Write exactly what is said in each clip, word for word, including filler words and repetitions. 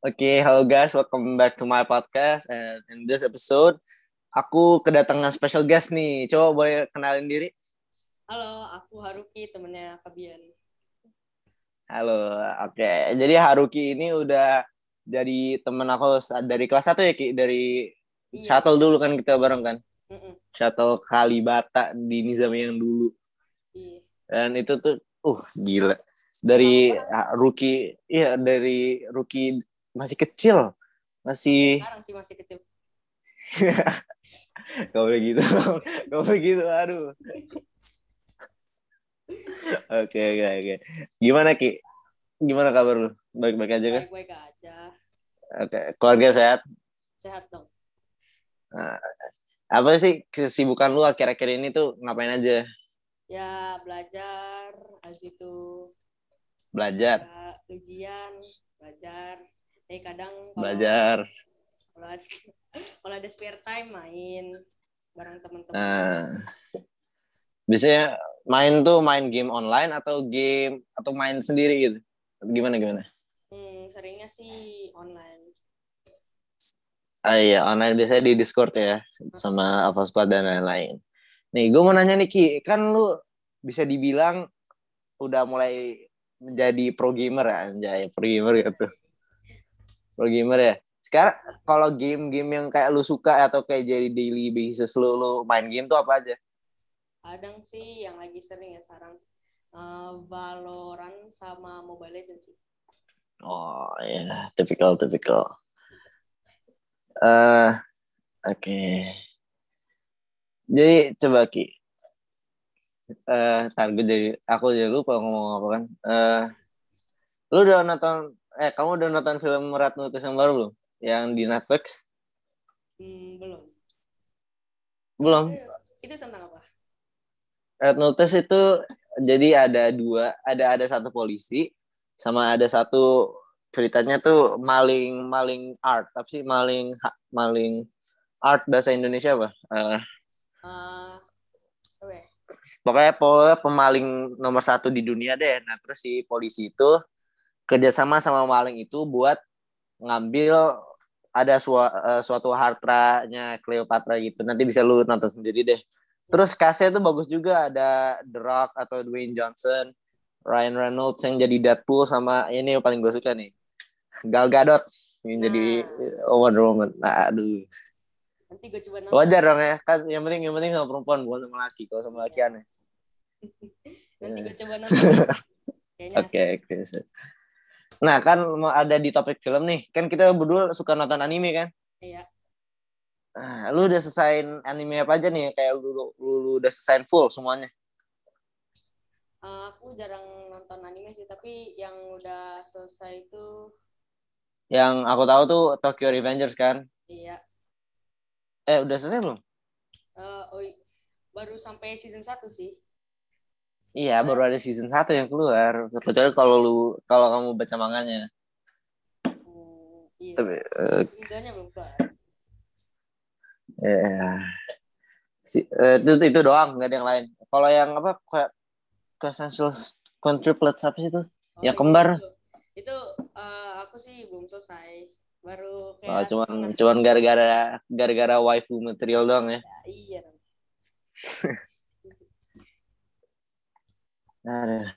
Oke, halo guys, welcome back to my podcast. And in this episode, aku kedatangan special guest nih. Coba boleh kenalin diri? Halo, aku Haruki, temennya Kabian. Halo, oke. Jadi Haruki ini udah jadi temen aku dari kelas satu ya, Ki? Dari Iya, shuttle betul. dulu kan kita bareng kan? Mm-mm. Shuttle Kalibata di Nizam yang dulu. Iya. Dan itu tuh, uh, gila. Lama Dari banget. ah, rookie, iya dari rookie masih kecil. Sampai Masih, sekarang sih masih kecil. gak boleh gitu. Gak boleh gitu, aduh. Oke, oke, oke. Gimana, Ki? Gimana kabar lu? Baik-baik aja kan? Baik-baik aja. Oke, keluarga sehat? Sehat dong. Nah, apa sih kesibukan lu akhir-akhir ini tuh ngapain aja? Ya, belajar. Habis itu Belajar, ya, ujian, belajar. Tapi kadang kalau belajar. kalau ada, kalau ada spare time main bareng teman-teman. Nah, biasanya main tuh main game online atau game atau main sendiri gitu? Gimana gimana? Hmm, seringnya sih online. Ah iya, online biasanya di Discord ya Uh-uh. sama Alpha Squad dan lain-lain. Nih, gue mau nanya nih Ki, kan lu bisa dibilang udah mulai menjadi pro gamer ya, anjay, pro gamer gitu. Pro gamer ya. Sekarang kalau game-game yang kayak lu suka atau kayak jadi daily basis lu, lu main game tuh apa aja? Kadang sih yang lagi sering ya sekarang uh, Valorant sama Mobile Legends sih. Oh ya, typical typical. Eh, uh, oke. Okay. Jadi coba Ki, eh uh, gue jadi aku jadi lupa ngomong apa kan. Eh, uh, lu udah nonton eh kamu udah nonton film Red Notice yang baru belum? Yang di Netflix? Hmm, belum. Emang itu Belum. itu tentang apa? Red Notice itu jadi ada dua, ada ada satu polisi sama ada satu ceritanya tuh maling maling art, tapi sih maling maling art bahasa Indonesia apa? Uh, Uh, apa ya? pokoknya pokoknya pemaling nomor satu di dunia deh. Nah terus si polisi itu kerjasama sama maling itu buat ngambil ada sua, uh, suatu hartanya Cleopatra gitu. Nanti bisa lu nonton sendiri deh. Hmm. Terus castnya tuh bagus juga, ada The Rock atau Dwayne Johnson, Ryan Reynolds yang jadi Deadpool, sama ini yang paling gue suka nih, Gal Gadot yang jadi Nah, Wonder Woman. Nah, aduh. nanti gue coba nonton. Wajar dong ya, kan yang penting yang penting sama perempuan bukan sama laki. Kalau sama laki Iya. aneh. Nanti Oke, gue coba nonton deh. Kayaknya asik. okay, oke. Okay. Nah, kan mau ada di topik film nih. Kan kita berdua suka nonton anime kan? Iya. Nah, lu udah selesai anime apa aja nih? Kayak lu, lu, lu, lu udah selesai full semuanya? Uh, aku jarang nonton anime sih, tapi yang udah selesai itu Yang aku tahu tuh Tokyo Revengers kan? iya. Eh, udah selesai belum? Uh, oh, baru sampai season satu sih. Iya, baru Soalnya ada season satu yang keluar. Kecuali kalau lu kalau kamu baca manganya. hmm, iya. Tapi uh, Seasonnya belum keluar. ya si, uh, itu itu doang, nggak ada yang lain. Kalau yang apa kayak Quintessential Quintuplets apa sih itu? Oh Yang iya kembar. itu. Itu uh, aku sih belum selesai. Baru Oh, kayak cuman setengah. cuman gara-gara gara-gara waifu material doang ya. Ya, iya. Nah,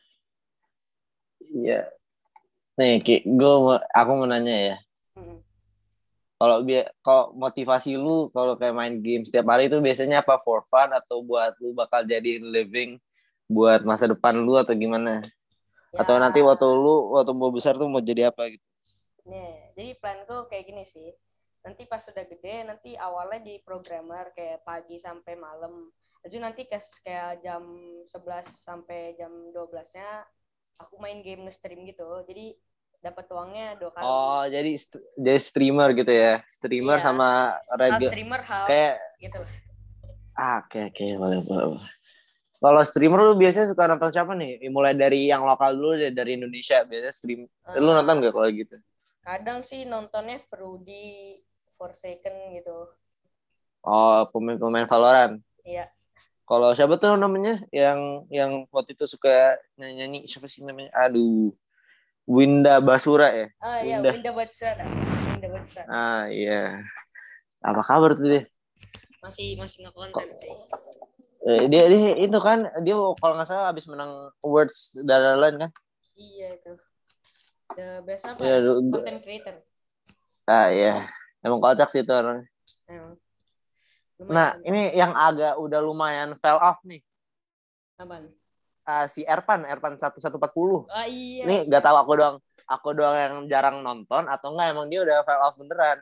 iya. Nih, Ki, gue mau, aku mau nanya ya. Hmm. Kalau biar kalau motivasi lu kalau kayak main game setiap hari itu biasanya apa, for fun atau buat lu bakal jadi living buat masa depan lu atau gimana? Atau Ya, nanti waktu lu waktu mau besar tuh mau jadi apa gitu? nih, jadi planku kayak gini sih. Nanti pas sudah gede, nanti awalnya di programmer kayak pagi sampai malam. Jadi nanti kayak jam sebelas sampai jam dua belas-nya aku main game nge-stream gitu. Jadi dapat uangnya dua kali. Oh, jadi st- jadi streamer gitu ya. Streamer Iya, sama half reg streamer half kayak gitu. ah, oke oke boleh boleh. boleh. Kalau streamer lu biasanya suka nonton siapa nih? Mulai dari yang lokal dulu deh, dari Indonesia biasanya stream. Lu nonton Uh, gak kalau gitu? kadang sih nontonnya Fruity, Forsaken gitu. Oh, pemain-pemain Valorant. Iya, Kalau siapa tuh namanya yang yang waktu itu suka nyanyi-nyanyi, siapa sih namanya? Aduh, Winda Basura ya. Oh iya, Winda. Winda Basura. Winda Basura. Ah iya. Apa kabar tuh dia? Masih masih nge-konten sih. Eh, dia dia itu kan dia kalau nggak salah habis menang awards dan lain kan. Iya itu. The best apa? Ya, Ya? gua- Content creator. ah iya. Emang kocak sih itu orang. Emang. Nah, Lumayan. ini yang agak udah lumayan fell off nih. Apaan? Ah, si Erpan, Erpan seribu seratus empat puluh. Oh iya. Ini iya. nggak tahu aku doang, aku doang yang jarang nonton atau enggak emang dia udah fell off beneran.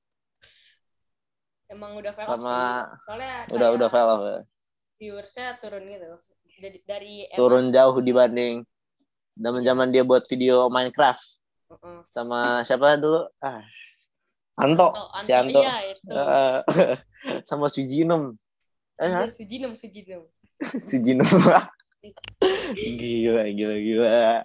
Emang udah fail off Sama sih. Soalnya udah kayak udah fell off ya. viewersnya turun gitu. Dari, dari Turun emang, jauh dibanding zaman-zaman dia buat video Minecraft uh-uh. sama siapa dulu? Ah, Anto, Anto, si Anto, Anto. iya itu. Uh, sama Sujinem. Eh, Iya, Sujinem, Sujinem. Sujinem. Gila, gila, gila.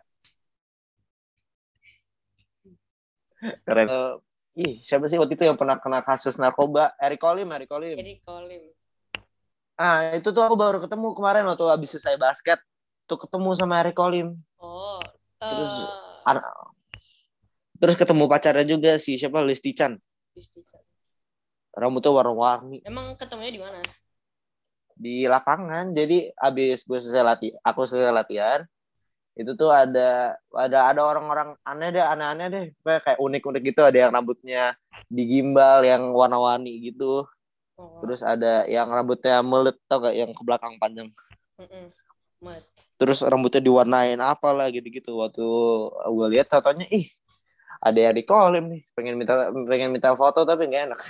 Keren. Uh, ih, siapa sih waktu itu yang pernah kena kasus narkoba? Eric Colim, Eric Colim. Eric Colim. Ah, itu tuh aku baru ketemu kemarin waktu habis selesai basket. Tuh ketemu sama Eric Colim. Oh. Terus Uh, an- terus ketemu pacarnya juga si siapa? Listi Chan. Rambutnya warna-warni. Emang ketemunya di mana? Di lapangan. Jadi abis gue selesai latihan, aku selesai latihan, itu tuh ada ada ada orang-orang aneh deh, aneh-aneh deh, kayak kayak unik-unik gitu. Ada yang rambutnya digimbal, yang warna-warni gitu. Oh. Terus ada yang rambutnya melet, tau gak, yang ke belakang panjang. Mm-mm. Mat. Terus rambutnya diwarnain apalah gitu-gitu. Waktu gue lihat katanya, ih ada yang di Colim nih, pengen minta pengen minta foto tapi nggak enak.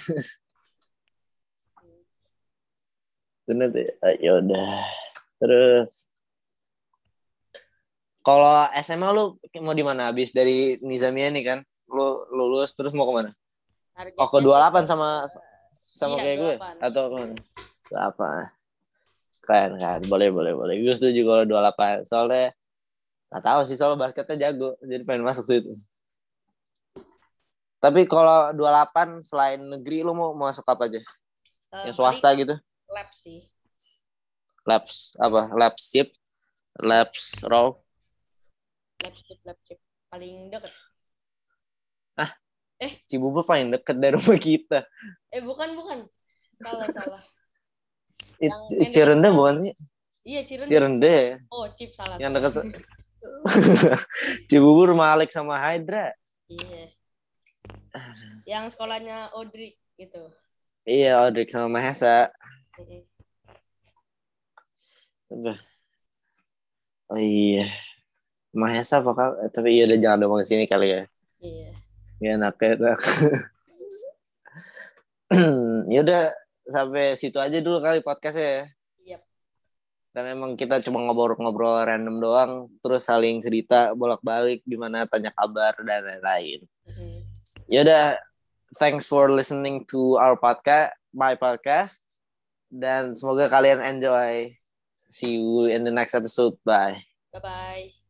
Bener tuh, ya udah. Terus kalau S M A lu mau di mana? Habis dari Nizamia nih kan, lu lulus terus mau kemana? Oh, ke Targetnya dua puluh sih delapan ke sama sama iya, kayak gue dua puluh delapan. atau kemana? Apa? Keren kan, boleh boleh boleh. Gue setuju kalau dua puluh delapan. Soalnya nggak tahu sih, soal basketnya jago, jadi pengen masuk situ. Tapi kalau dua puluh delapan selain negeri lu mau masuk apa aja? Uh, Yang swasta gitu? Lab sih. Labs apa? Labs ship, labs raw. Lab chip, lab chip paling deket. Ah, eh Cibubur paling deket dari rumah kita. Eh bukan bukan. Salah salah. Yang Cirende bukan sih? Iya Cirende. Cirende. Oh chip salah. Yang salah. deket. Cibubur Malik sama Hydra. Iya. Yang sekolahnya Audrey gitu. Iya, Audrey sama Mahesa. Mm-hmm. Oh iya. Mahesa apa? Tapi iya udah jangan ngomong ke sini kali ya. Iya. Ya enak ya. Ya udah sampai situ aja dulu kali podcastnya ya. Yep. Dan emang kita cuma ngobrol-ngobrol random doang, terus saling cerita bolak-balik gimana, tanya kabar dan lain-lain. Mm-hmm. Ya udah, thanks for listening to our podcast, my podcast, dan semoga kalian enjoy. See you in the next episode. Bye. Bye bye.